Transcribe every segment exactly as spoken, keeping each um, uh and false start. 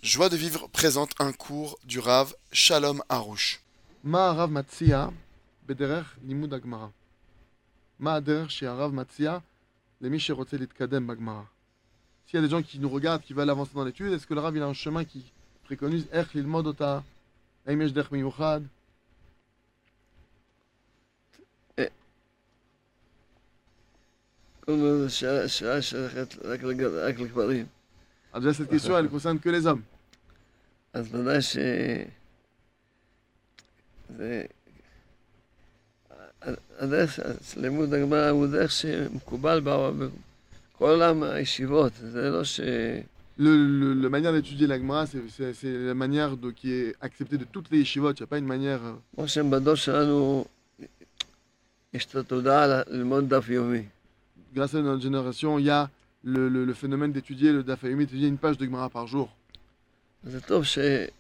Joie de vivre présente un cours du Rav Shalom Harouche. מה הרב מציע בדרך לימוד הגמרא? מה הדרך שהרב מציע למי שרוצה להתקדם בגמרא? S'il y a des gens qui nous regardent, qui veulent avancer dans l'étude, est-ce que le Rav il a un chemin qui préconise איך ללמוד אותה? האם יש דרך מיוחד? כל מיני שעה שעה שייכת רק לג- רק לגברים. Alors déjà cette question elle concerne que les hommes. אז ודאי ש... זה... הדרך של לימוד הגמרא הוא דרך שמקובל בעולם- בכל עולם הישיבות, זה לא ש... Le, le- la manière d'étudier la Gemara, c'est, c'est- c'est la manière de- qui est acceptée de toutes les yeshivot. Il n'y a pas une manière... euh, כמו שבדור שלנו יש את התודעה ל- ללמוד דף יומי. Grâce à notre génération, il y a le, le- le phénomène d'étudier le Daf Yomi, d'étudier une page de Gemara par jour. אז זה טוב ש...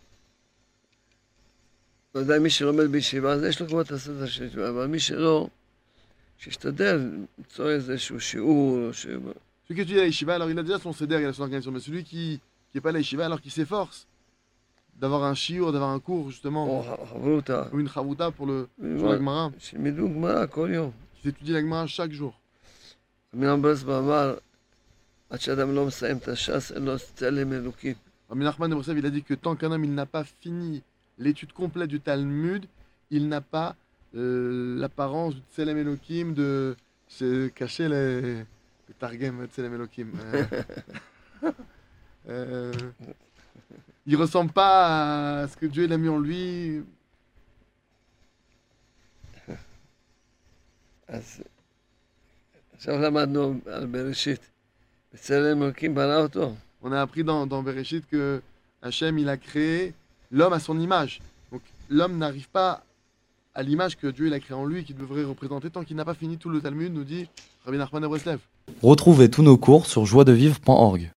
ודאי מי שלומד בישיבה, אז יש לו כבר את הסדר של ישיבה, אבל מי שלא, שישתדל למצוא איזשהו שיעור, ש... Celui qui étudie la yeshiva, alors il a déjà son seder, il a son organisation. Mais celui qui n'est pas la yeshiva, alors qui s'efforce d'avoir un shiur, d'avoir un cours justement, או חברותא, ou une chavruta pour le pour la Gemara, שילמדו גמרא כל יום. qui s'étudie la Gemara chaque jour. רבי ברסלב אמר, עד שאדם לא מסיים את הש"ס, אין לו צלם אלוקים. Rabbi Nachman de Breslev, il a dit que tant qu'un homme il n'a pas fini l'étude complète du Talmud, il n'a pas euh, l'apparence du Tselem Elohim, de se cacher les, le Targem Tselem Elohim. Euh, euh, il ressemble pas à ce que Dieu il a mis en lui. אז עכשיו למדנו על בראשית. בצלם אלוקים ברא אותו. On a appris dans, dans Bereshit que Hachem il a créé l'homme à son image. Donc l'homme n'arrive pas à l'image que Dieu il a créé en lui, qui devrait représenter tant qu'il n'a pas fini tout le Talmud, nous dit Rabbi Nachman de Breslev. Retrouvez tous nos cours sur joie de vivre point org.